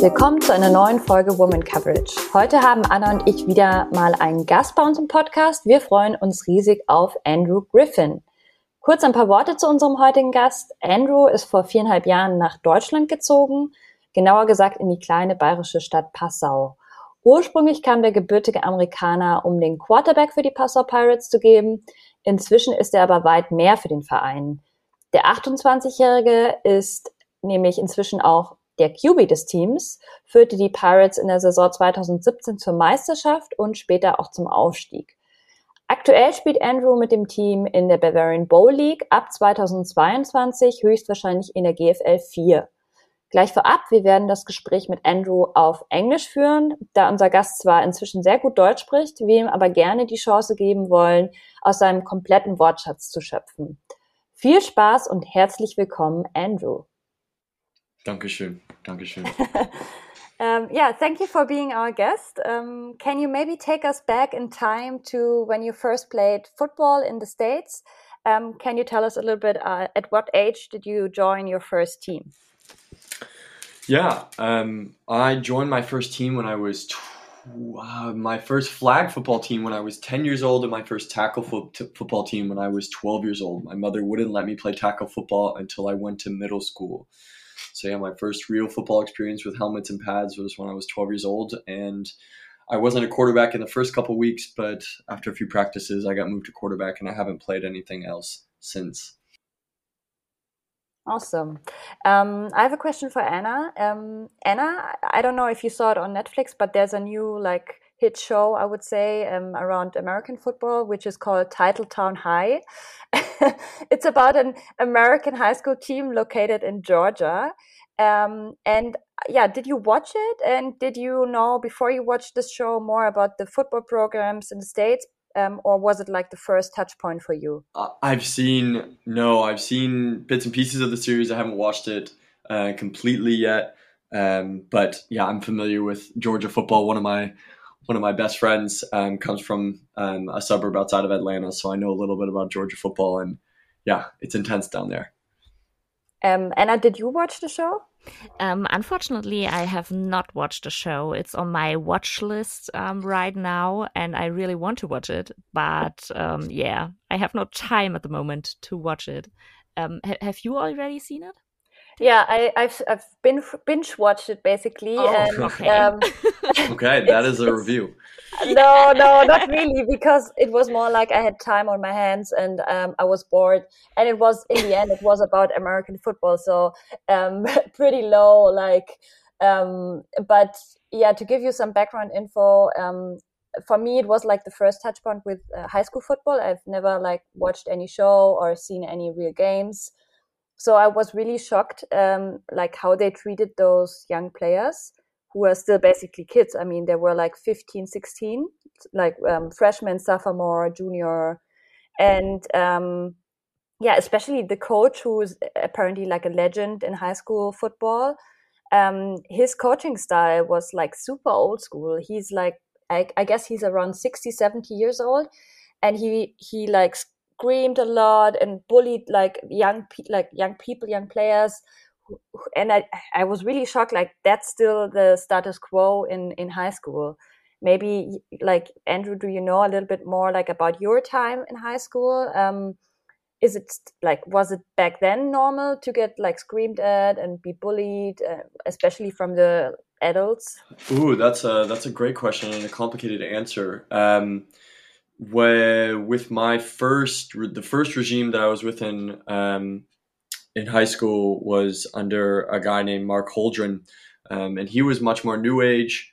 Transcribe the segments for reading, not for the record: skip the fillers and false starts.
willkommen zu einer neuen Folge Woman Coverage. Heute haben Anna und ich wieder mal einen Gast bei uns im Podcast. Wir freuen uns riesig auf Andrew Griffin. Kurz ein paar Worte zu unserem heutigen Gast. Andrew ist vor 4,5 Jahren nach Deutschland gezogen, genauer gesagt in die kleine bayerische Stadt Passau. Ursprünglich kam der gebürtige Amerikaner, um den Quarterback für die Passau Pirates zu geben. Inzwischen ist er aber weit mehr für den Verein. Der 28-Jährige ist nämlich inzwischen auch der QB des Teams, führte die Pirates in der Saison 2017 zur Meisterschaft und später auch zum Aufstieg. Aktuell spielt Andrew mit dem Team in der Bavarian Bowl League, ab 2022 höchstwahrscheinlich in der GFL 4. Gleich vorab, wir werden das Gespräch mit Andrew auf Englisch führen, da unser Gast zwar inzwischen sehr gut Deutsch spricht, wir ihm aber gerne die Chance geben wollen, aus seinem kompletten Wortschatz zu schöpfen. Viel Spaß und herzlich willkommen, Andrew. Dankeschön. Thank you for being our guest. Can you maybe take us back in time to when you first played football in the States? Can you tell us a little bit at what age did you join your first team? Yeah, I joined my first team when I was my first flag football team when I was 10 years old, and my first tackle football team when I was 12 years old. My mother wouldn't let me play tackle football until I went to middle school. So yeah, my first real football experience with helmets and pads was when I was 12 years old, and I wasn't a quarterback in the first couple weeks, but after a few practices, I got moved to quarterback, and I haven't played anything else since. Awesome. I have a question for Anna. Anna, I don't know if you saw it on Netflix, but there's a new hit show, I would say, around American football, which is called Titletown High. It's about an American high school team located in Georgia. Did you watch it? And did you know before you watched this show more about the football programs in the States? Or was it the first touch point for you? I've seen bits and pieces of the series. I haven't watched it completely yet. But yeah, I'm familiar with Georgia football. One of my best friends comes from a suburb outside of Atlanta, so I know a little bit about Georgia football, and yeah, it's intense down there. Anna, did you watch the show? Unfortunately, I have not watched the show. It's on my watch list right now, and I really want to watch it. But I have no time at the moment to watch it. Have you already seen it? Yeah, I've binge watched it basically. Oh, and, okay. Okay, that is a review. No, not really, because it was more like I had time on my hands and I was bored. And it was, in the end, it was about American football, so pretty low. But yeah, to give you some background info, for me, it was the first touch point with high school football. I've never watched any show or seen any real games. So I was really shocked, how they treated those young players who are still basically kids. I mean, they were 15, 16, freshman, sophomore, junior. And especially the coach, who is apparently a legend in high school football. His coaching style was super old school. He's I guess he's around 60, 70 years old. And he screamed a lot and bullied young people, young players, and I was really shocked. That's still the status quo in high school. Maybe Andrew, do you know a little bit more about your time in high school? Is it was it back then normal to get screamed at and be bullied, especially from the adults? Ooh, that's a great question and a complicated answer. With the first regime that I was within in high school was under a guy named Mark Holdren, and he was much more new age,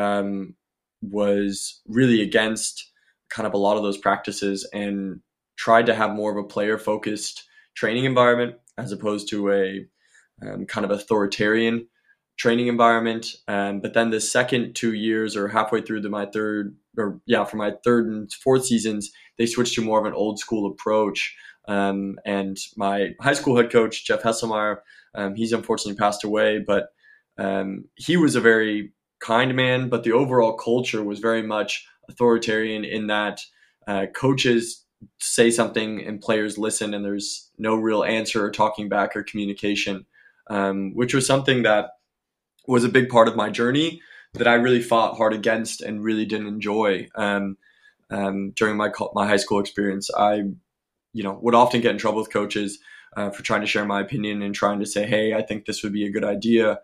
was really against kind of a lot of those practices and tried to have more of a player focused training environment as opposed to a kind of authoritarian training environment. But then the second 2 years, or halfway through for my third and fourth seasons, they switched to more of an old school approach. And my high school head coach, Jeff Hesselmeyer, he's unfortunately passed away, but he was a very kind man, but the overall culture was very much authoritarian in that coaches say something and players listen, and there's no real answer or talking back or communication, which was something that was a big part of my journey that I really fought hard against and really didn't enjoy. During my high school experience, I would often get in trouble with coaches for trying to share my opinion and trying to say, hey, I think this would be a good idea.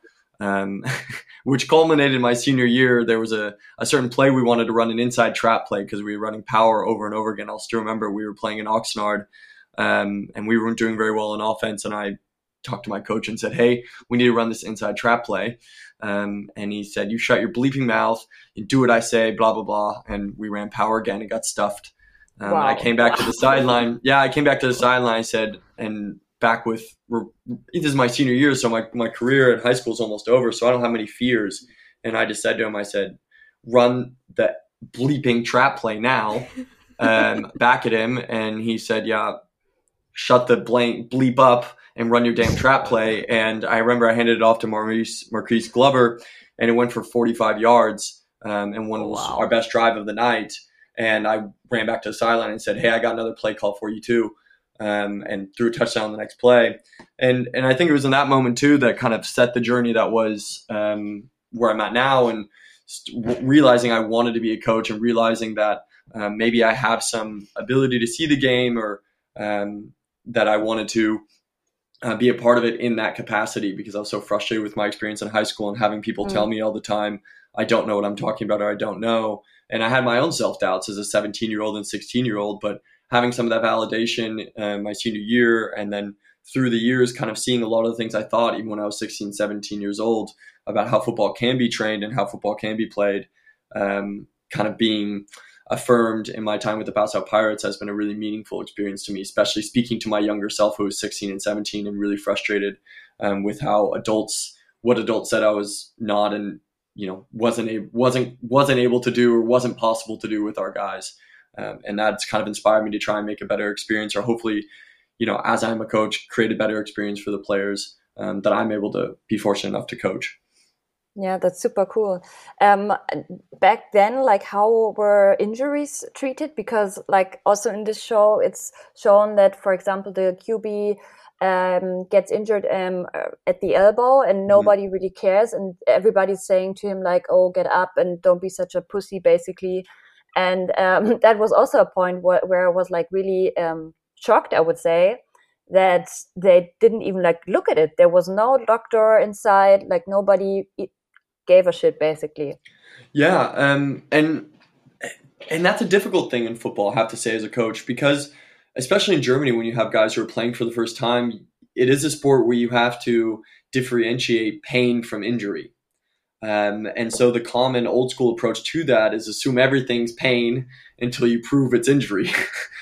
Which culminated in my senior year. There was a certain play we wanted to run, an inside trap play, because we were running power over and over again. I'll still remember we were playing in Oxnard, and we weren't doing very well in offense. And I talked to my coach and said, hey, we need to run this inside trap play. And he said, you shut your bleeping mouth and do what I say, blah, blah, blah. And we ran power again. It got stuffed. Wow. I came back to the sideline. Yeah, I came back to the sideline. I said, and back with, this is my senior year, so my career in high school is almost over, so I don't have many fears. And I just said to him, I said, run the bleeping trap play now, back at him. And he said, yeah, shut the bleep up and run your damn trap play. And I remember I handed it off to Marquise Glover, and it went for 45 yards, and one was our best drive of the night. And I ran back to the sideline and said, hey, I got another play call for you too. And threw a touchdown the next play. And I think it was in that moment too that kind of set the journey that was where I'm at now, and realizing I wanted to be a coach, and realizing that maybe I have some ability to see the game, or that I wanted to be a part of it in that capacity, because I was so frustrated with my experience in high school and having people tell me all the time, I don't know what I'm talking about, or I don't know. And I had my own self-doubts as a 17-year-old and 16-year-old, but having some of that validation my senior year, and then through the years kind of seeing a lot of the things I thought even when I was 16, 17 years old about how football can be trained and how football can be played, kind of being affirmed in my time with the Pass Out Pirates has been a really meaningful experience to me, especially speaking to my younger self who was 16 and 17 and really frustrated with how what adults said I was not, and wasn't able to do, or wasn't possible to do with our guys. And that's kind of inspired me to try and make a better experience, or hopefully, as I'm a coach, create a better experience for the players that I'm able to be fortunate enough to coach. Yeah, that's super cool. Back then, like, how were injuries treated? Because, like, also in this show, it's shown that, for example, the QB gets injured at the elbow, and nobody really cares, and everybody's saying to him, like, oh, get up and don't be such a pussy, basically. And that was also a point where I was, like, really shocked, I would say, that they didn't even, like, look at it. There was no doctor inside, like, nobody gave a shit, basically. Yeah, and that's a difficult thing in football, I have to say, as a coach, because especially in Germany, when you have guys who are playing for the first time, it is a sport where you have to differentiate pain from injury. And so the common old school approach to that is assume everything's pain until you prove it's injury,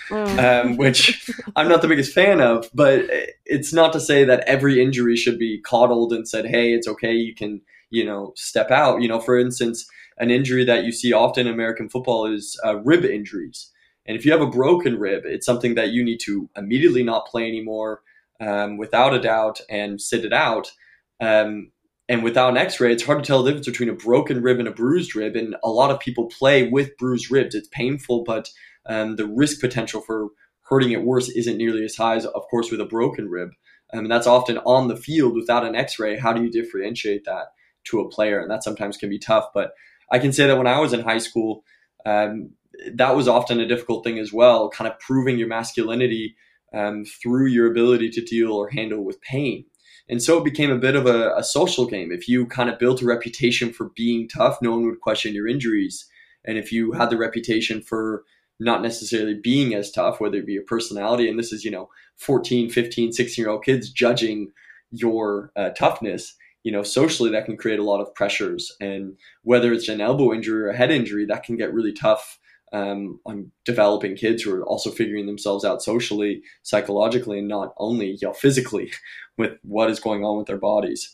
which I'm not the biggest fan of. But it's not to say that every injury should be coddled and said, hey, it's okay, you can, step out. For instance, an injury that you see often in American football is rib injuries. And if you have a broken rib, it's something that you need to immediately not play anymore, without a doubt, and sit it out. And without an x-ray, it's hard to tell the difference between a broken rib and a bruised rib. And a lot of people play with bruised ribs. It's painful, but the risk potential for hurting it worse isn't nearly as high as, of course, with a broken rib. And that's often on the field without an x-ray. How do you differentiate that to a player? And that sometimes can be tough. But I can say that when I was in high school, that was often a difficult thing as well, kind of proving your masculinity through your ability to deal or handle with pain. And so it became a bit of a social game. If you kind of built a reputation for being tough, no one would question your injuries. And if you had the reputation for not necessarily being as tough, whether it be your personality, and this is, 14, 15, 16-year-old kids judging your toughness, socially that can create a lot of pressures. And whether it's an elbow injury or a head injury, that can get really tough on developing kids who are also figuring themselves out socially, psychologically, and not only physically with what is going on with their bodies.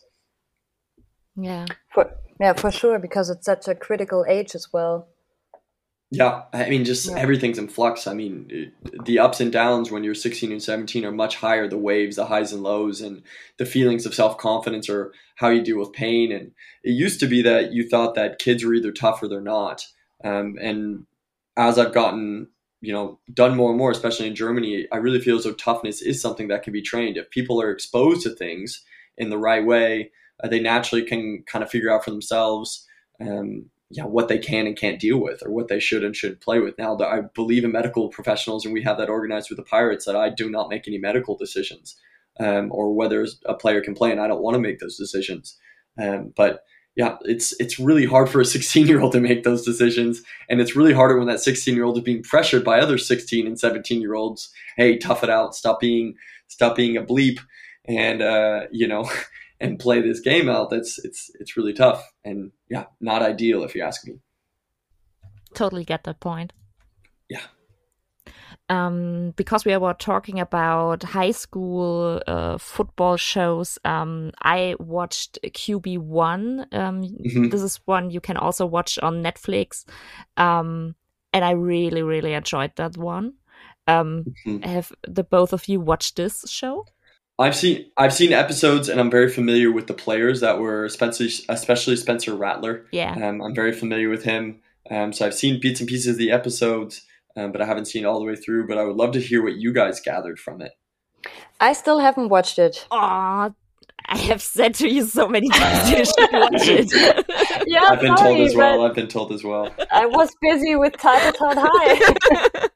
For sure, because it's such a critical age as well. Yeah, I mean, everything's in flux. I mean, the ups and downs when you're 16 and 17 are much higher, the waves, the highs and lows, and the feelings of self-confidence, or how you deal with pain. And it used to be that you thought that kids were either tough or they're not. And as I've gotten, done more and more, especially in Germany, I really feel as though toughness is something that can be trained. If people are exposed to things in the right way, they naturally can kind of figure out for themselves what they can and can't deal with, or what they should and should play with. Now, I believe in medical professionals, and we have that organized with the Pirates, that I do not make any medical decisions, or whether a player can play, and I don't want to make those decisions. But yeah, it's really hard for a 16-year-old to make those decisions, and it's really harder when that 16-year-old is being pressured by other 16 and 17-year-olds. Hey, tough it out, stop being a bleep, and and play this game out. It's really tough, and yeah, not ideal if you ask me. Totally get that point. Yeah. Because we were talking about high school football shows, I watched QB1. This is one you can also watch on Netflix, and I really, really enjoyed that one. Have the both of you watched this show? I've seen episodes, and I'm very familiar with the players that were, especially Spencer Rattler. Yeah, I'm very familiar with him. So I've seen bits and pieces of the episodes, but I haven't seen it all the way through. But I would love to hear what you guys gathered from it. I still haven't watched it. Aw, I have said to you so many times you should watch it. Yeah, I've been told as well. I've been told as well. I was busy with Titletown High.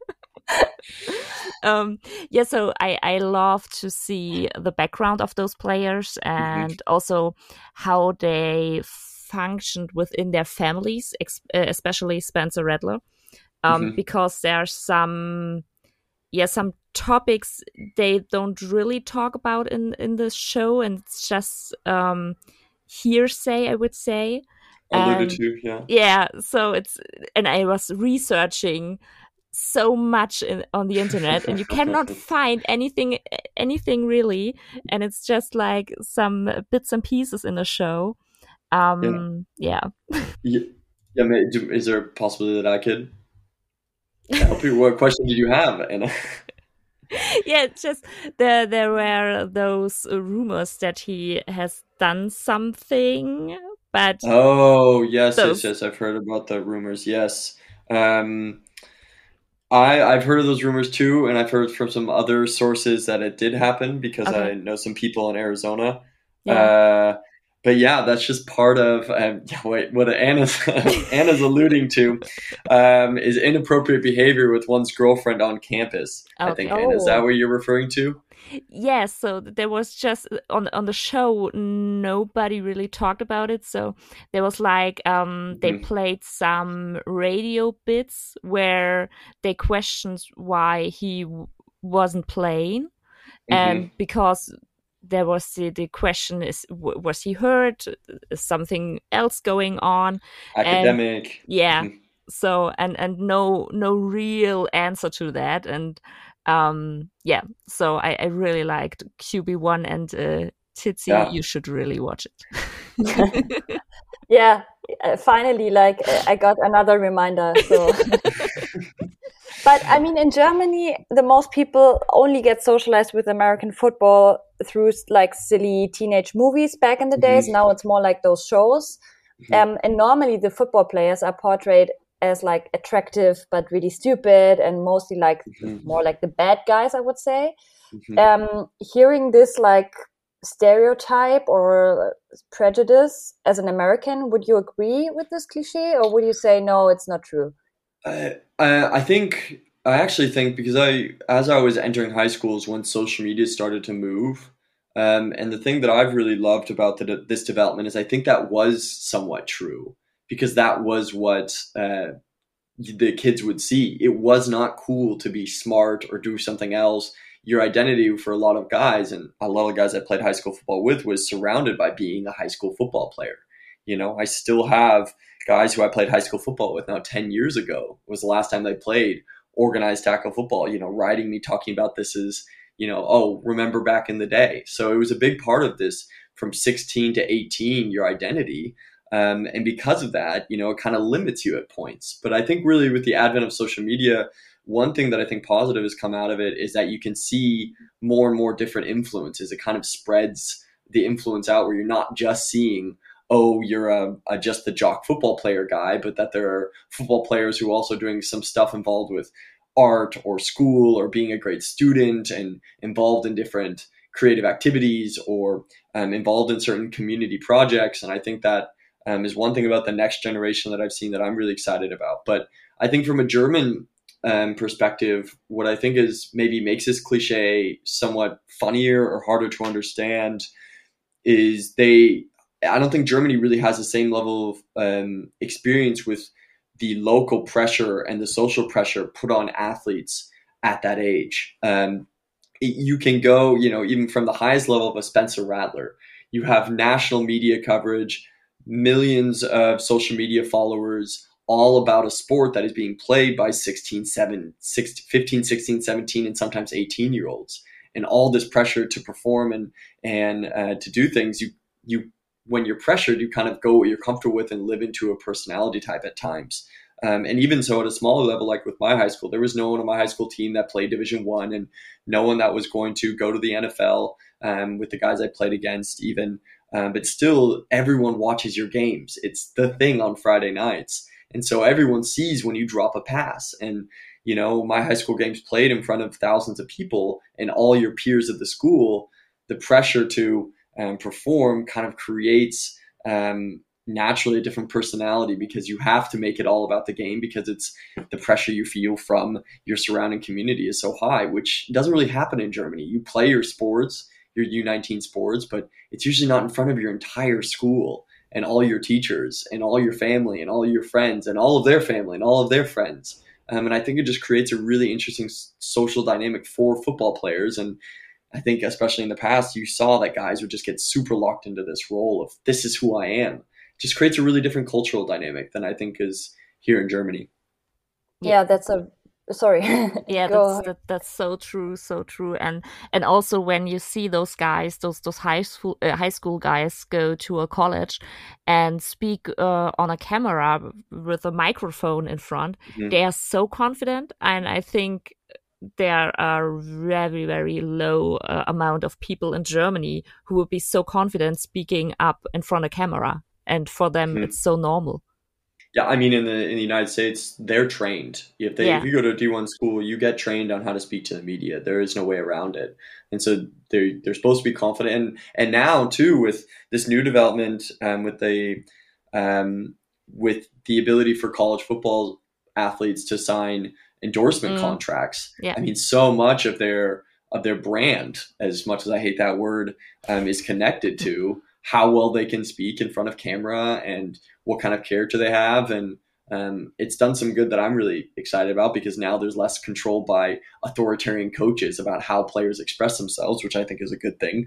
So I love to see the background of those players, and also how they functioned within their families, especially Spencer Rattler, because there are some topics they don't really talk about in this show, and it's just hearsay, I would say. Alluded to, yeah. Yeah, so and I was researching so much on the internet, and you cannot find anything really, and it's just like some bits and pieces in the show. Yeah. Is there a possibility that I could help you? What question did you have, Anna? Yeah, it's just there were those rumors that he has done something, but yes, I've heard about the rumors. Yes. I've heard of those rumors too, and I've heard from some other sources that it did happen, because I know some people in Arizona. Yeah. But yeah, that's just part of what Anna's alluding to is inappropriate behavior with one's girlfriend on campus. Okay. I think, Anna, is that what you're referring to? Yes, so there was just on the show, nobody really talked about it. So there was like they played some radio bits where they questioned why he wasn't playing, and because there was the question is, was he hurt? Is something else going on? Academic. So and no real answer to that, and so I really liked QB1, and Titsi, you should really watch it. Yeah, finally, I got another reminder. So, but I mean, in Germany, the most people only get socialized with American football through like silly teenage movies back in the days. Now it's more like those shows, and normally the football players are portrayed as like attractive but really stupid, and mostly like more like the bad guys, I would say. Hearing this like stereotype or prejudice as an American, would you agree with this cliche, or would you say no, it's not true? I actually think, because as I was entering high schools when social media started to move, and the thing that I've really loved about this development is I think that was somewhat true, because that was what the kids would see. It was not cool to be smart or do something else. Your identity for a lot of guys, and a lot of guys I played high school football with, was surrounded by being a high school football player. You know, I still have guys who I played high school football with now 10 years ago was the last time they played organized tackle football, writing me, talking about this as, remember back in the day. So it was a big part of this from 16 to 18, your identity. And because of that, it kind of limits you at points. But I think really with the advent of social media, one thing that I think positive has come out of it is that you can see more and more different influences. It kind of spreads the influence out, where you're not just seeing, you're just the jock football player guy, but that there are football players who are also doing some stuff involved with art or school or being a great student and involved in different creative activities or involved in certain community projects. And I think that is one thing about the next generation that I've seen that I'm really excited about. But I think from a German perspective, what I think is maybe makes this cliche somewhat funnier or harder to understand is I don't think Germany really has the same level of experience with the local pressure and the social pressure put on athletes at that age. You can go, even from the highest level of a Spencer Rattler, you have national media coverage, millions of social media followers, all about a sport that is being played by 15, 16, 17, and sometimes 18-year-olds. And all this pressure to perform and to do things, you when you're pressured, you kind of go what you're comfortable with and live into a personality type at times. And even so, at a smaller level, like with my high school, there was no one on my high school team that played Division I, and no one that was going to go to the NFL with the guys I played against even. But still, everyone watches your games. It's the thing on Friday nights. And so everyone sees when you drop a pass. And, my high school games played in front of thousands of people and all your peers at the school. The pressure to perform kind of creates naturally a different personality, because you have to make it all about the game, because it's the pressure you feel from your surrounding community is so high, which doesn't really happen in Germany. You play your sports, your U19 sports, but it's usually not in front of your entire school and all your teachers and all your family and all your friends and all of their family and all of their friends. And I think it just creates a really interesting social dynamic for football players. And I think especially in the past, you saw that guys would just get super locked into this role of this is who I am. It just creates a really different cultural dynamic than I think is here in Germany. Yeah, sorry. Yeah, that's so true, so true. And also when you see those guys, those high school guys go to a college and speak on a camera with a microphone in front, they are so confident. And I think there are very, very low amount of people in Germany who would be so confident speaking up in front of camera. And for them, it's so normal. Yeah, I mean, in the United States, they're trained. If you go to a D1 school, you get trained on how to speak to the media. There is no way around it. And so they're supposed to be confident. And now too, with this new development, with the ability for college football athletes to sign endorsement contracts. Yeah. I mean, so much of their brand, as much as I hate that word, is connected to how well they can speak in front of camera and what kind of character they have. And it's done some good that I'm really excited about, because now there's less control by authoritarian coaches about how players express themselves, which I think is a good thing.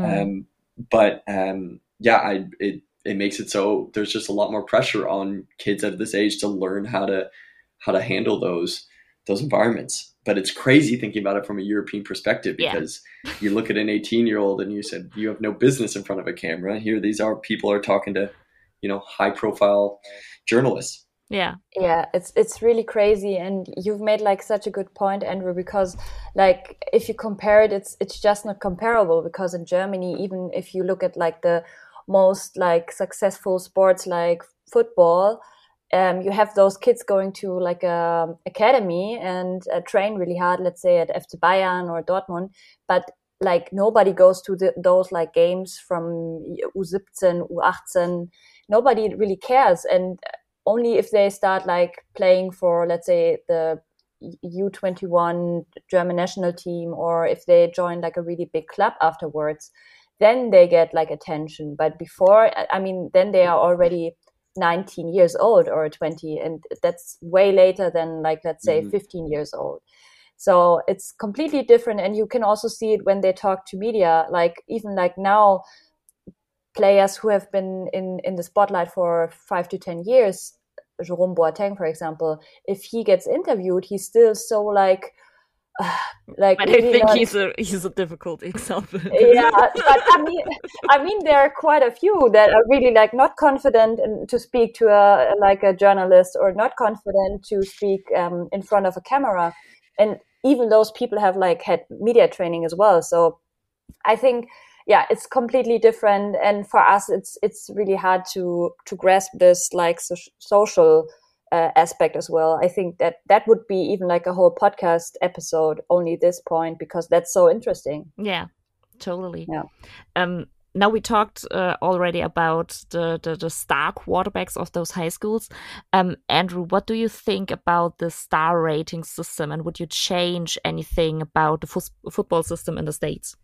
It makes it so there's just a lot more pressure on kids at this age to learn how to handle those environments. But it's crazy thinking about it from a European perspective, because you look at an 18-year-old and you said, you have no business in front of a camera. Here, people are talking to, high profile journalists. Yeah, it's really crazy. And you've made such a good point, Andrew, because if you compare it, it's just not comparable, because in Germany, even if you look at the most successful sports like football, you have those kids going to academy and train really hard, let's say at FC Bayern or Dortmund, but nobody goes to those games from U17, U18. Nobody really cares. And only if they start playing for, let's say, the U21 German national team, or if they join a really big club afterwards, then they get attention. But before, then they are already 19 years old or 20, and that's way later than let's say 15 years old. So it's completely different. And you can also see it when they talk to media, even now, players who have been in the spotlight for 5 to 10 years, Jerome Boateng, for example, if he gets interviewed, he's still so but really I think he's a difficult example. Yeah, but I mean, there are quite a few that are really not confident to speak to a journalist, or not confident to speak in front of a camera, and even those people have had media training as well. So I think, it's completely different, and for us, it's really hard to grasp this social aspect as well. I think that would be even a whole podcast episode, only this point, because that's so interesting. Yeah, totally. Yeah. Now we talked already about the star quarterbacks of those high schools. Andrew, what do you think about the star rating system, and would you change anything about the football system in the States?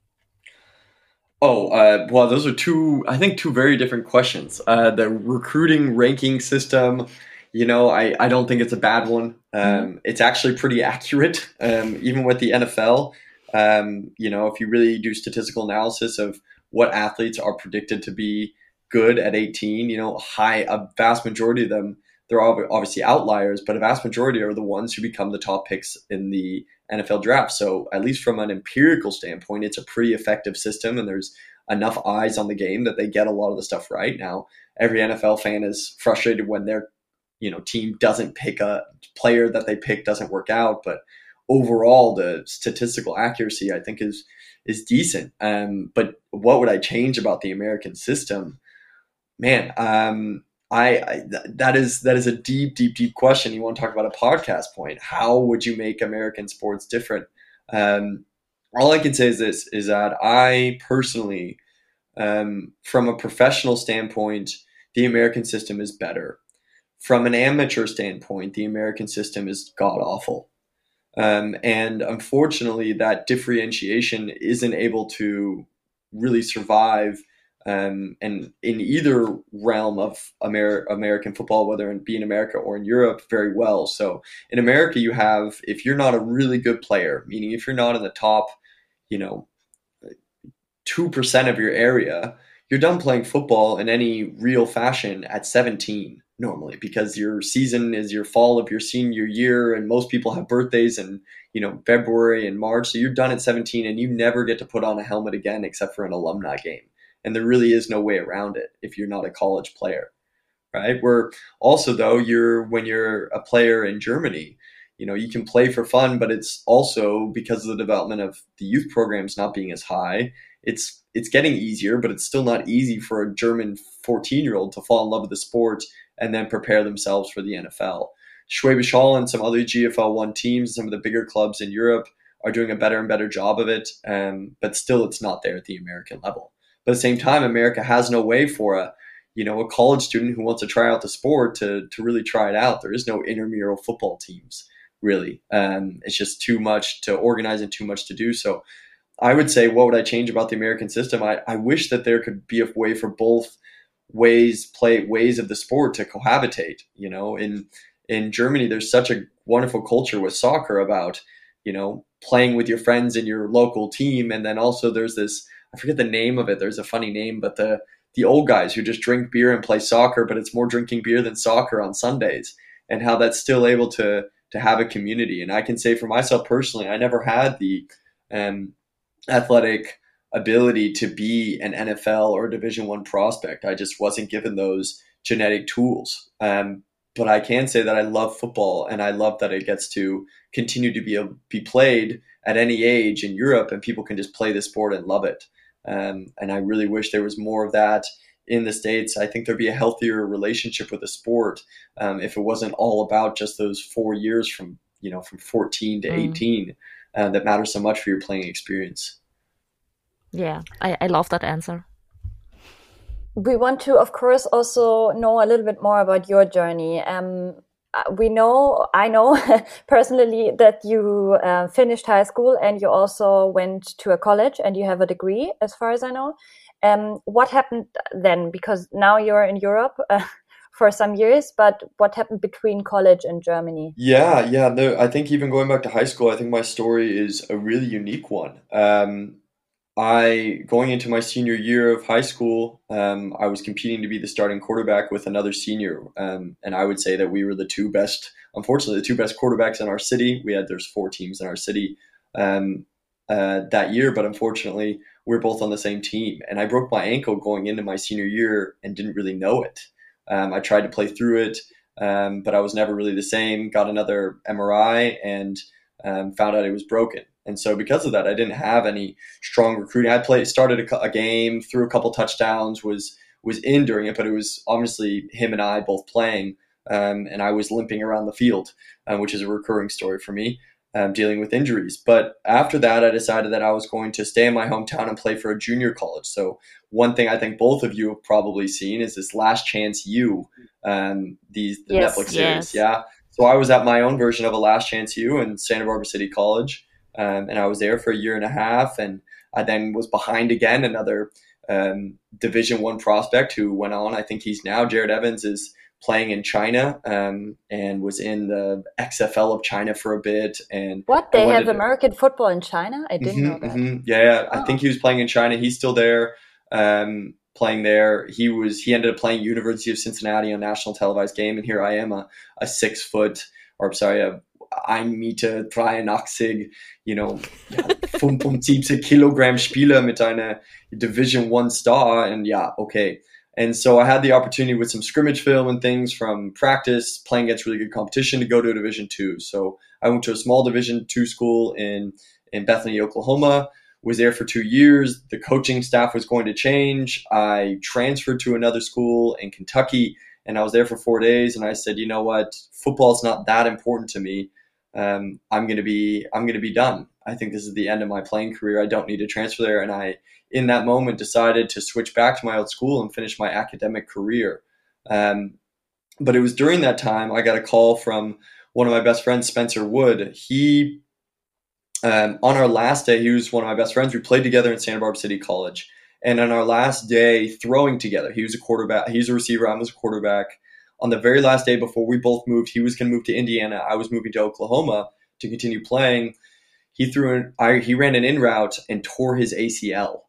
Oh, well, those are two very different questions. The recruiting ranking system, I don't think it's a bad one. It's actually pretty accurate, even with the NFL. If you really do statistical analysis of what athletes are predicted to be good at 18, a vast majority of them, they're obviously outliers, but a vast majority are the ones who become the top picks in the NFL draft. So at least from an empirical standpoint, it's a pretty effective system, and there's enough eyes on the game that they get a lot of the stuff right. Now, every NFL fan is frustrated when their team doesn't pick a player that they pick doesn't work out, but overall the statistical accuracy I think is decent. But what would I change about the American system? Man, that is a deep question. You want to talk about a podcast point? How would you make American sports different? All I can say is this: is that I personally, from a professional standpoint, the American system is better. From an amateur standpoint, the American system is god awful. And unfortunately, that differentiation isn't able to really survive and in either realm of American football, whether it be in America or in Europe, very well. So in America, you have, if you're not a really good player, meaning if you're not in the top, 2% of your area, you're done playing football in any real fashion at 17 normally, because your season is your fall of your senior year, and most people have birthdays in February and March, so you're done at 17 and you never get to put on a helmet again except for an alumni game. And there really is no way around it if you're not a college player, right? Where also, though, when you're a player in Germany, you can play for fun, but it's also because of the development of the youth programs not being as high. It's getting easier, but it's still not easy for a German 14-year-old to fall in love with the sport and then prepare themselves for the NFL. Schwäbisch Hall and some other GFL 1 teams, some of the bigger clubs in Europe, are doing a better and better job of it, but still it's not there at the American level. But at the same time, America has no way for a college student who wants to try out the sport to really try it out. There is no intramural football teams, really. It's just too much to organize and too much to do. So I would say, what would I change about the American system? I wish that there could be a way for both ways of the sport to cohabitate. In Germany, there's such a wonderful culture with soccer about, playing with your friends in your local team. And then also there's this, I forget the name of it. There's a funny name, but the old guys who just drink beer and play soccer, but it's more drinking beer than soccer on Sundays, and how that's still able to have a community. And I can say for myself personally, I never had the athletic ability to be an NFL or Division I prospect. I just wasn't given those genetic tools. But I can say that I love football, and I love that it gets to continue to be played at any age in Europe, and people can just play the sport and love it. And I really wish there was more of that in the States. I think there'd be a healthier relationship with the sport if it wasn't all about just those 4 years from 14 to 18 that matter so much for your playing experience. Yeah, I love that answer. We want to, of course, also know a little bit more about your journey. I know personally that you finished high school and you also went to a college and you have a degree, as far as I know. What happened then? Because now you're in Europe for some years, but what happened between college and Germany? Yeah. No, I think even going back to high school, I think my story is a really unique one. Going into my senior year of high school, I was competing to be the starting quarterback with another senior. And I would say that we were unfortunately, the two best quarterbacks in our city. There's 4 teams in our city that year, but unfortunately, we're both on the same team. And I broke my ankle going into my senior year and didn't really know it. I tried to play through it, but I was never really the same. Got another MRI and found out it was broken. And so because of that, I didn't have any strong recruiting. I started a game, threw a couple touchdowns, was in during it, but it was obviously him and I both playing, and I was limping around the field, which is a recurring story for me. dealing with injuries. But after that, I decided that I was going to stay in my hometown and play for a junior college. So one thing I think both of you have probably seen is this Last Chance U, the Yes. Netflix series. Yes. Yeah. So I was at my own version of a Last Chance U in Santa Barbara City College, and I was there for a year and a half, and I then was behind again another Division One prospect who went on. I think he's now Jared Evans is playing in China, and was in the XFL of China for a bit. And What? They have American football in China? I didn't know that. Yeah, Oh. I think he was playing in China. He's still there, playing there. He ended up playing University of Cincinnati on national televised game, and here I am, a 6 foot, or sorry, a 1,83, 75 Kilogramm Spieler mit einer Division One Star, and yeah, okay. And so I had the opportunity with some scrimmage film and things from practice, playing against really good competition, to go to a Division Two. So I went to a small Division Two school in Bethany, Oklahoma, was there for 2 years. The coaching staff was going to change. I transferred to another school in Kentucky, and I was there for 4 days. And I said, you know what, football's not that important to me. I'm going to be done. I think this is the end of my playing career. I don't need to transfer there. And I, in that moment, decided to switch back to my old school and finish my academic career. But it was during that time I got a call from one of my best friends, Spencer Wood. He, on our last day, he was one of my best friends. We played together in Santa Barbara City College. And on our last day throwing together, he was a quarterback. He's a receiver. I was a quarterback. On the very last day before we both moved, he was going to move to Indiana. I was moving to Oklahoma to continue playing. He ran an in route and tore his ACL,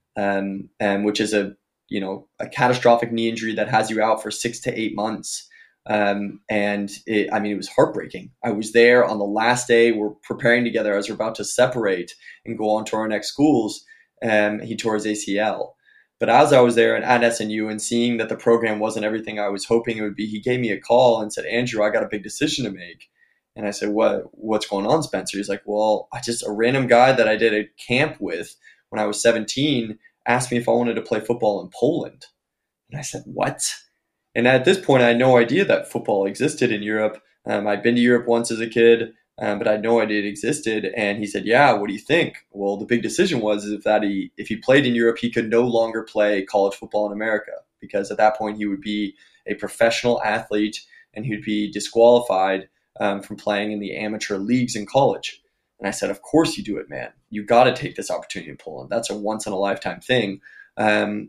which is a catastrophic knee injury that has you out for 6 to 8 months. And it was heartbreaking. I was there on the last day. We're preparing together as we're about to separate and go on to our next schools. He tore his ACL. But as I was there at SNU and seeing that the program wasn't everything I was hoping it would be, he gave me a call and said, Andrew, I got a big decision to make. And I said, what's going on, Spencer? He's like, well, a random guy that I did a camp with when I was 17 asked me if I wanted to play football in Poland. And I said, what? And at this point, I had no idea that football existed in Europe. I'd been to Europe once as a kid, but I had no idea it existed. And he said, yeah, what do you think? Well, the big decision was if he played in Europe, he could no longer play college football in America, because at that point he would be a professional athlete and he'd be disqualified from playing in the amateur leagues in college. And I said, of course you do it, man. You got to take this opportunity in Poland. That's a once in a lifetime thing. And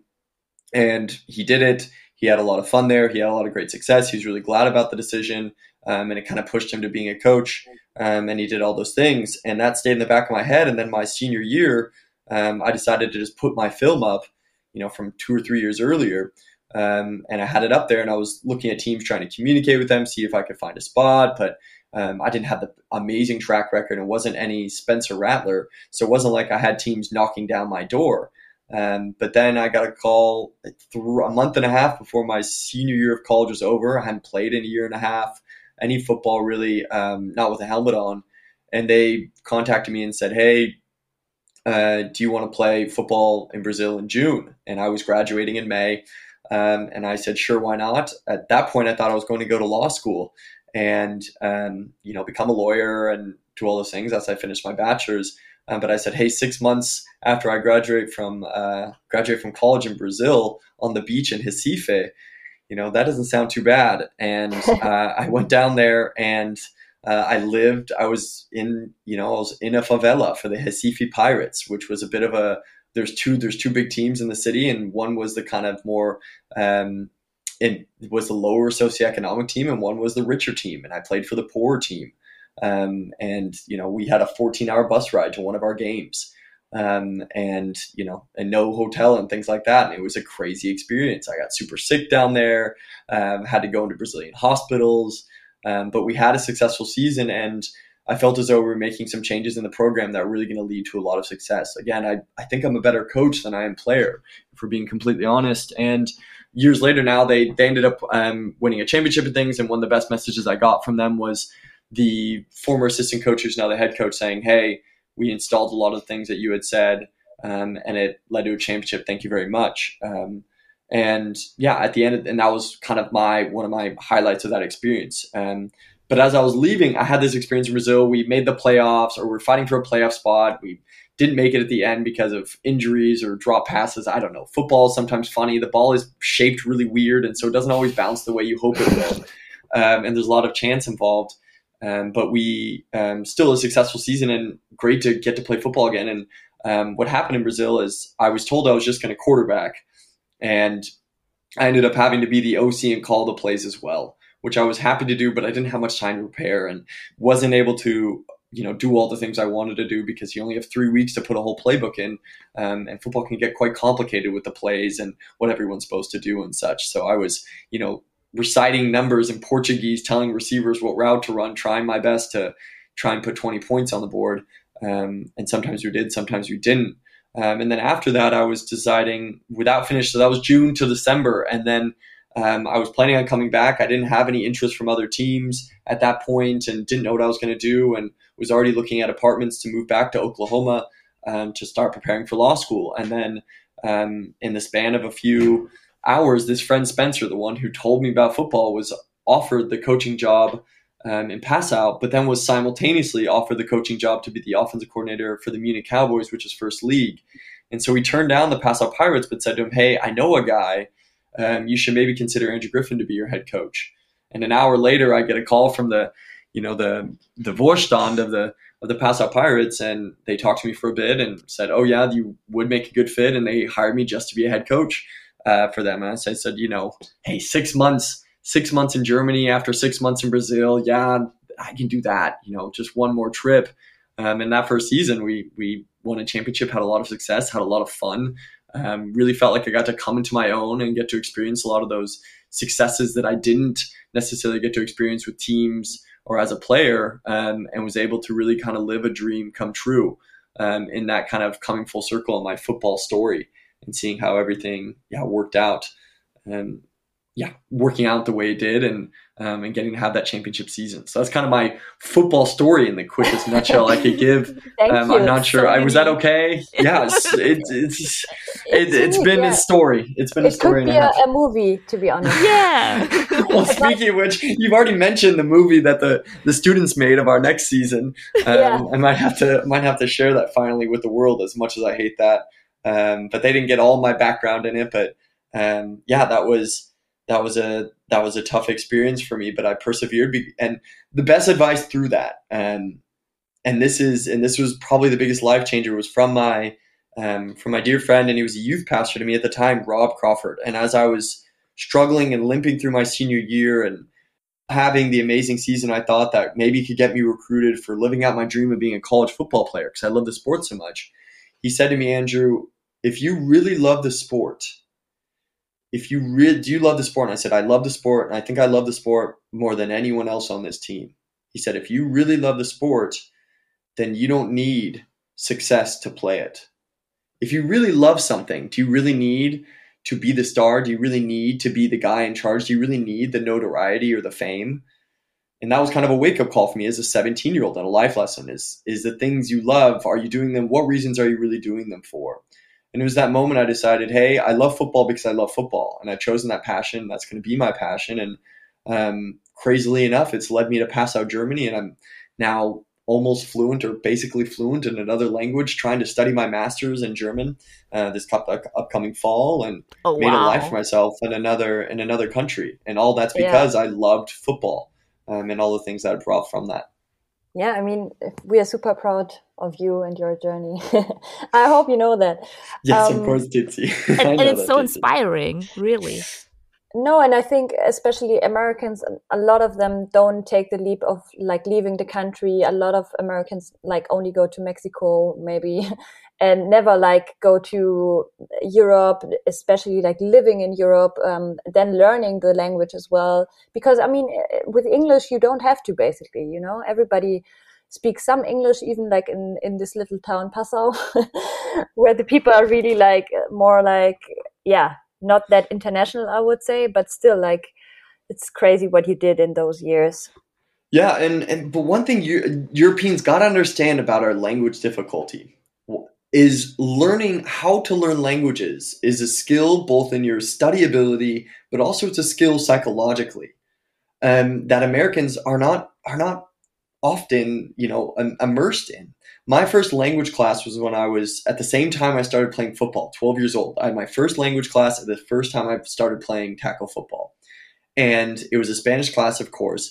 he did it. He had a lot of fun there. He had a lot of great success. He was really glad about the decision. And it kind of pushed him to being a coach. And he did all those things. And that stayed in the back of my head. And then my senior year, I decided to just put my film up, from 2 or 3 years earlier. And I had it up there, and I was looking at teams, trying to communicate with them, see if I could find a spot. But I didn't have the amazing track record. It wasn't any Spencer Rattler. So it wasn't like I had teams knocking down my door. But then I got a call a month and a half before my senior year of college was over. I hadn't played in a year and a half, any football really, not with a helmet on. And they contacted me and said, hey, do you want to play football in Brazil in June? And I was graduating in May. And I said, sure, why not? At that point, I thought I was going to go to law school and, become a lawyer and do all those things as I finished my bachelor's. But I said, hey, 6 months after I graduate from college in Brazil on the beach in Recife, that doesn't sound too bad. And I went down there and I was in a favela for the Recife Pirates, which was a bit of there's two big teams in the city, and one was the kind of more it was the lower socioeconomic team, and one was the richer team, and I played for the poorer team. And we had a 14-hour bus ride to one of our games, and no hotel and things like that. And it was a crazy experience. I got super sick down there, had to go into Brazilian hospitals, but we had a successful season, and I felt as though we were making some changes in the program that were really going to lead to a lot of success. Again, I think I'm a better coach than I am player, if we're being completely honest. And years later now, they ended up winning a championship and things. And one of the best messages I got from them was the former assistant coach, who's now the head coach, saying, hey, we installed a lot of the things that you had said, and it led to a championship. Thank you very much. And yeah, at the end, and that was kind of one of my highlights of that experience. But as I was leaving, I had this experience in Brazil. We made the playoffs, or we're fighting for a playoff spot. We didn't make it at the end because of injuries or drop passes. I don't know. Football is sometimes funny. The ball is shaped really weird, and so it doesn't always bounce the way you hope it will. And there's a lot of chance involved. But we still a successful season, and great to get to play football again. And what happened in Brazil is I was told I was just going to quarterback, and I ended up having to be the OC and call the plays as well, which I was happy to do, but I didn't have much time to prepare and wasn't able to, do all the things I wanted to do because you only have 3 weeks to put a whole playbook in. And football can get quite complicated with the plays and what everyone's supposed to do and such. So I was, reciting numbers in Portuguese, telling receivers what route to run, trying my best to try and put 20 points on the board. And sometimes we did, sometimes we didn't. And then after that, I was deciding without finish. So that was June to December. And then I was planning on coming back. I didn't have any interest from other teams at that point and didn't know what I was going to do, and was already looking at apartments to move back to Oklahoma to start preparing for law school. And then in the span of a few hours, this friend Spencer, the one who told me about football, was offered the coaching job in Passau, but then was simultaneously offered the coaching job to be the offensive coordinator for the Munich Cowboys, which is first league. And so he turned down the Passau Pirates, but said to him, "Hey, I know a guy. You should maybe consider Andrew Griffin to be your head coach." And an hour later, I get a call from the Vorstand of the Passau Pirates, and they talked to me for a bit and said, "Oh yeah, you would make a good fit," and they hired me just to be a head coach for them. And so I said, "Hey, 6 months." 6 months in Germany after 6 months in Brazil. Yeah, I can do that. Just one more trip. In that first season, we won a championship, had a lot of success, had a lot of fun. Really felt like I got to come into my own and get to experience a lot of those successes that I didn't necessarily get to experience with teams or as a player, and was able to really kind of live a dream come true in that kind of coming full circle in my football story and seeing how everything worked out. Working out the way it did and getting to have that championship season. So that's kind of my football story in the quickest nutshell I could give. I'm not sure. Was that okay? Yes. It's been a story. It's been a story. It could be a movie, to be honest. Yeah. Well, speaking of which, you've already mentioned the movie that the students made of our next season. I might have to share that finally with the world, as much as I hate that. But they didn't get all my background in it. But that was a tough experience for me, but I persevered. And the best advice through that, and this was probably the biggest life changer, was from my dear friend, and he was a youth pastor to me at the time, Rob Crawford. And as I was struggling and limping through my senior year and having the amazing season, I thought that maybe he could get me recruited for living out my dream of being a college football player because I love the sport so much. He said to me, "Andrew, if you really love the sport, do you love the sport?" And I said, "I love the sport, and I think I love the sport more than anyone else on this team." He said, "If you really love the sport, then you don't need success to play it. If you really love something, do you really need to be the star? Do you really need to be the guy in charge? Do you really need the notoriety or the fame?" And that was kind of a wake-up call for me as a 17-year-old, and a life lesson is the things you love, are you doing them? What reasons are you really doing them for? And it was that moment I decided, hey, I love football because I love football. And I've chosen that passion. That's going to be my passion. And crazily enough, it's led me to Passau, Germany. And I'm now almost fluent, or basically fluent, in another language, trying to study my master's in German this upcoming fall, and made a life for myself in another country. And all that's because I loved football and all the things that I brought from that. Yeah, I mean, we are super proud of you and your journey. I hope you know that. Yes, of course, Titsi. And it's so inspiring, really. No, and I think especially Americans, a lot of them don't take the leap of leaving the country. A lot of Americans only go to Mexico, maybe, and never go to Europe, especially living in Europe, then learning the language as well. Because I mean, with English, you don't have to, basically, everybody speaks some English, even in this little town, Passau, where the people are really more not that international, I would say, but still it's crazy what you did in those years. Yeah. But one thing Europeans got to understand about our language difficulty is learning how to learn languages is a skill both in your study ability, but also it's a skill psychologically. that Americans are not often, immersed in. My first language class was when I was at the same time I started playing football, 12 years old. I had my first language class at the first time I started playing tackle football. And it was a Spanish class, of course.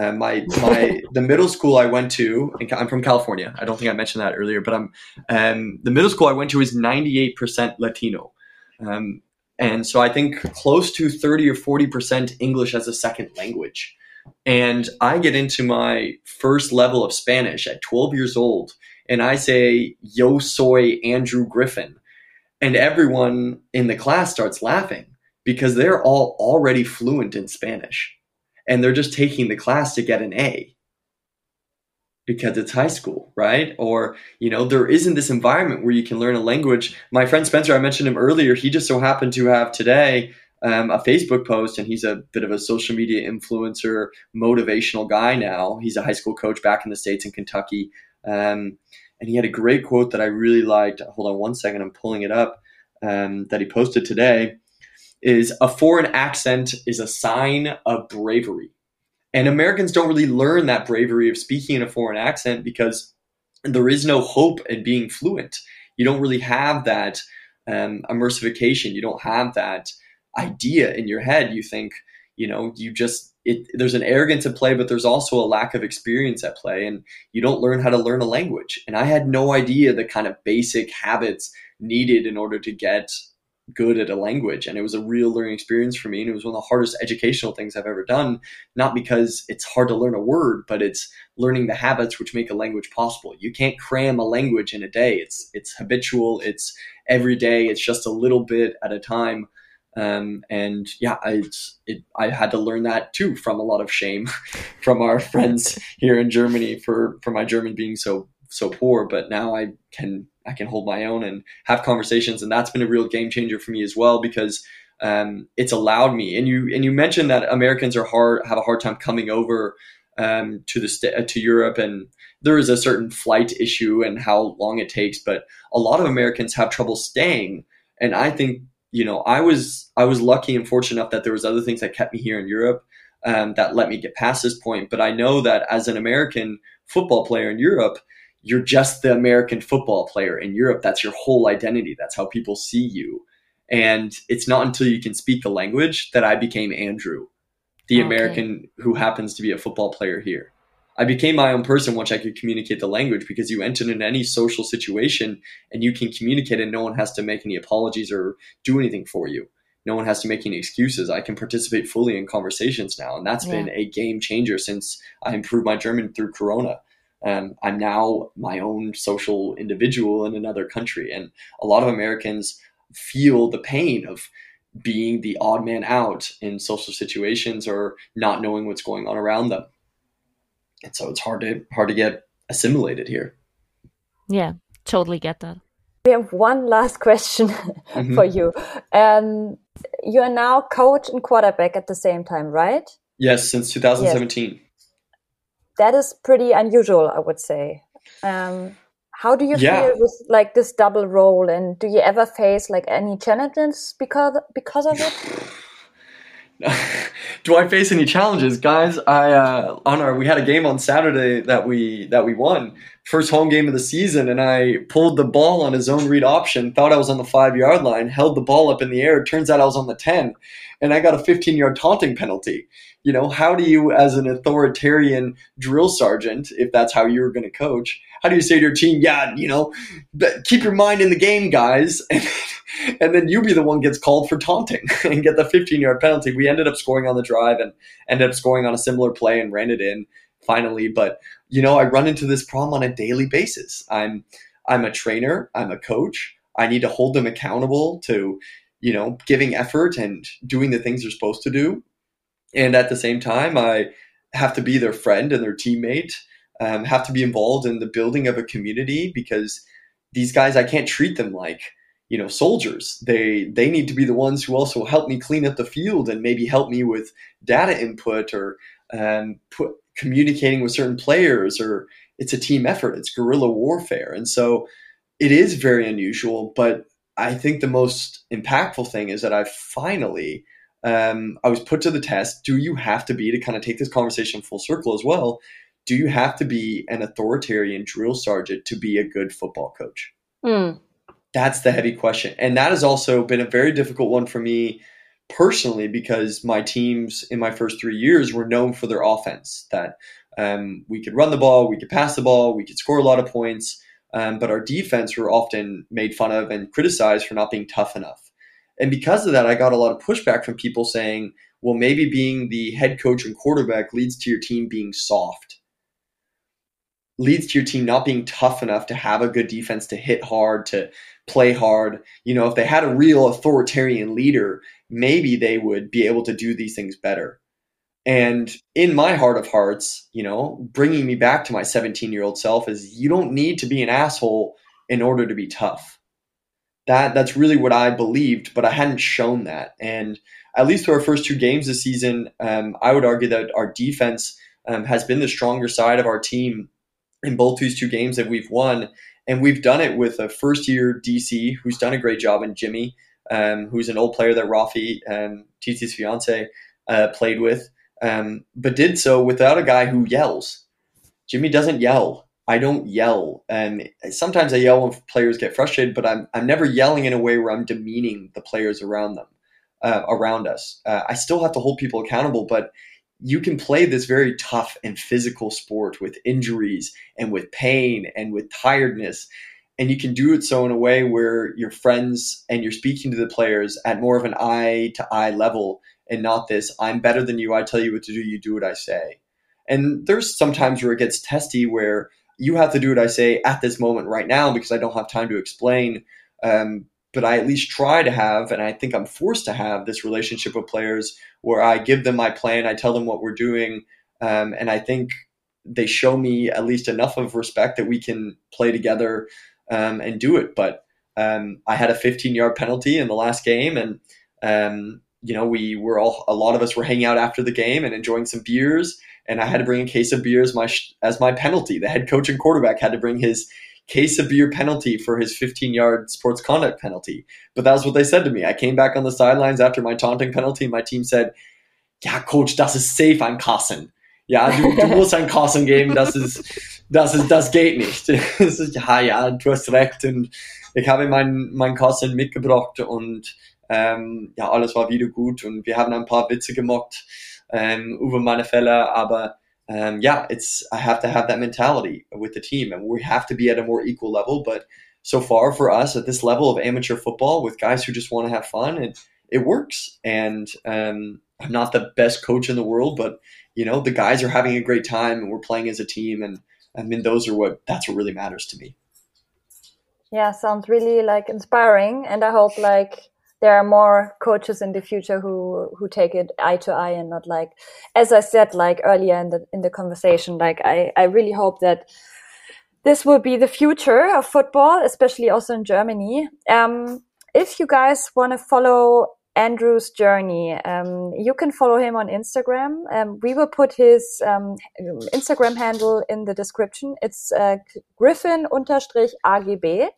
The middle school I went to, and I'm from California. I don't think I mentioned that earlier, but the middle school I went to is 98% Latino. And so I think close to 30 or 40% English as a second language. And I get into my first level of Spanish at 12 years old, and I say, "Yo soy Andrew Griffin." And everyone in the class starts laughing because they're all already fluent in Spanish. And they're just taking the class to get an A because it's high school, right? Or, there isn't this environment where you can learn a language. My friend Spencer, I mentioned him earlier, he just so happened to have today a Facebook post, and he's a bit of a social media influencer, motivational guy now. He's a high school coach back in the States in Kentucky. And he had a great quote that I really liked. Hold on one second, I'm pulling it up, that he posted today, is a foreign accent is a sign of bravery. And Americans don't really learn that bravery of speaking in a foreign accent because there is no hope in being fluent. You don't really have that immersification. You don't have that idea in your head. You think, there's an arrogance at play, but there's also a lack of experience at play, and you don't learn how to learn a language. And I had no idea the kind of basic habits needed in order to get good at a language. And it was a real learning experience for me. And it was one of the hardest educational things I've ever done, not because it's hard to learn a word, but it's learning the habits which make a language possible. You can't cram a language in a day. It's habitual. It's every day. It's just a little bit at a time. I had to learn that too, from a lot of shame from our friends here in Germany for my German being so poor. But now I can hold my own and have conversations, and that's been a real game changer for me as well, because it's allowed me. And you mentioned that Americans have a hard time coming over to Europe, and there is a certain flight issue and how long it takes. But a lot of Americans have trouble staying, and I think I was lucky and fortunate enough that there was other things that kept me here in Europe that let me get past this point. But I know that as an American football player in Europe, you're just the American football player in Europe. That's your whole identity. That's how people see you. And it's not until you can speak the language that I became Andrew, the American who happens to be a football player here. I became my own person once I could communicate the language, because you enter in any social situation and you can communicate, and no one has to make any apologies or do anything for you. No one has to make any excuses. I can participate fully in conversations now. And that's been a game changer since I improved my German through Corona. I'm now my own social individual in another country. And a lot of Americans feel the pain of being the odd man out in social situations or not knowing what's going on around them. And so it's hard to get assimilated here. Yeah, totally get that. We have one last question for you. You are now coach and quarterback at the same time, right? Yes, since 2017. Yes. That is pretty unusual, I would say. How do you feel with this double role, and do you ever face any challenges because of it? Do I face any challenges, guys? We had a game on Saturday that we won, first home game of the season, and I pulled the ball on a zone read option, thought I was on the 5-yard line, held the ball up in the air. Turns out I was on the 10, and I got a 15-yard taunting penalty. How do you, as an authoritarian drill sergeant, if that's how you were going to coach, how do you say to your team, keep your mind in the game, guys, and then you be the one gets called for taunting and get the 15-yard penalty? We ended up scoring on the drive and ended up scoring on a similar play and ran it in finally. But, I run into this problem on a daily basis. I'm a trainer. I'm a coach. I need to hold them accountable to, giving effort and doing the things they're supposed to do. And at the same time, I have to be their friend and their teammate, have to be involved in the building of a community, because these guys, I can't treat them like, soldiers. They need to be the ones who also help me clean up the field and maybe help me with data input or communicating with certain players, or it's a team effort. It's guerrilla warfare. And so it is very unusual, but I think the most impactful thing is that I've finally I was put to the test. Do you have to be, to kind of take this conversation full circle as well, do you have to be an authoritarian drill sergeant to be a good football coach? That's the heavy question. And that has also been a very difficult one for me personally, because my teams in my first 3 years were known for their offense, that we could run the ball, we could pass the ball, we could score a lot of points. But our defense were often made fun of and criticized for not being tough enough. And because of that, I got a lot of pushback from people saying, well, maybe being the head coach and quarterback leads to your team being soft, leads to your team not being tough enough to have a good defense, to hit hard, to play hard. You know, if they had a real authoritarian leader, maybe they would be able to do these things better. And in my heart of hearts, you know, bringing me back to my 17-year-old self is, you don't need to be an asshole in order to be tough. That's really what I believed, but I hadn't shown that. And at least through our first 2 games this season, I would argue that our defense has been the stronger side of our team in both these 2 games that we've won. And we've done it with a first-year DC who's done a great job, and Jimmy, who's an old player that Rafi, Titi's fiance, played with, but did so without a guy who yells. Jimmy doesn't yell. I don't yell. And sometimes I yell when players get frustrated, but I'm never yelling in a way where I'm demeaning the players around us. I still have to hold people accountable, but you can play this very tough and physical sport with injuries and with pain and with tiredness. And you can do it so in a way where you're friends and you're speaking to the players at more of an eye-to-eye level, and not this, I'm better than you, I tell you what to do, you do what I say. And there's some times where it gets testy, where you have to do what I say at this moment right now because I don't have time to explain. But I at least try to have, and I think I'm forced to have, this relationship with players where I give them my plan, I tell them what we're doing, and I think they show me at least enough of respect that we can play together and do it. But I had a 15-yard penalty in the last game, and you know, a lot of us were hanging out after the game and enjoying some beers, and I had to bring a case of beer as my penalty. The head coach and quarterback had to bring his case of beer penalty for his 15-yard sports conduct penalty. But that was what they said to me. I came back on the sidelines after my taunting penalty, and my team said, ja, Coach, das ist safe an Kassen. Ja, du musst an Kassen geben, das geht nicht. Ja, du hast recht. Und ich habe mein Kassen mitgebracht, und ja, alles war wieder gut, und wir haben ein paar Witze gemacht über meine Fälle, aber yeah, I have to have that mentality with the team, and we have to be at a more equal level. But so far for us at this level of amateur football with guys who just want to have fun, it works. And I'm not the best coach in the world, but you know, the guys are having a great time and we're playing as a team. And I mean, that's what really matters to me. Yeah, sounds really like inspiring. And I hope like there are more coaches in the future who take it eye to eye, and not like, as I said, like earlier in the conversation, like I really hope that this will be the future of football, especially also in Germany. If you guys want to follow Andrew's journey, you can follow him on Instagram. We will put his Instagram handle in the description. It's Griffin_AGB.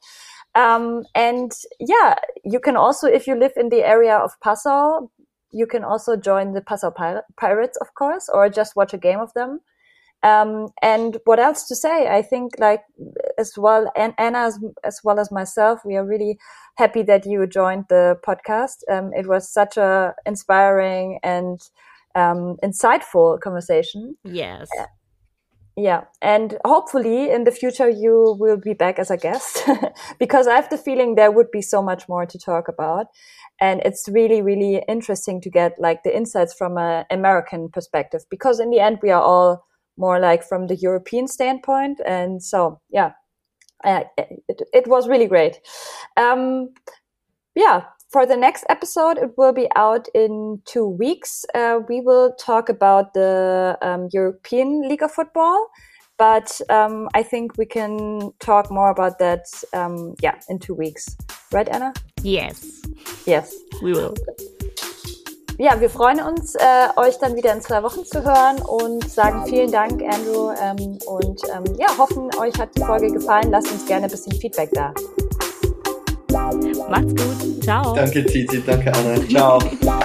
And yeah, you can also, if you live in the area of Passau, you can also join the Passau Pirates, of course, or just watch a game of them. And what else to say? I think like as well, and Anna as well as myself, we are really happy that you joined the podcast. It was such a inspiring and insightful conversation. Yes. Yeah, and hopefully in the future you will be back as a guest because I have the feeling there would be so much more to talk about, and it's really, really interesting to get like the insights from an American perspective, because in the end we are all more like from the European standpoint, and so yeah, it was really great. Yeah. For the next episode, it will be out in 2 weeks. We will talk about the European League of Football, but I think we can talk more about that, in 2 weeks. Right, Anna? Yes. Yes. We will. Ja, wir freuen uns, euch dann wieder in 2 Wochen zu hören, und sagen vielen Dank, Andrew, und hoffen, euch hat die Folge gefallen. Lasst uns gerne ein bisschen Feedback da. Macht's gut. Ciao. Danke, Titi. Danke, Anna. Ciao.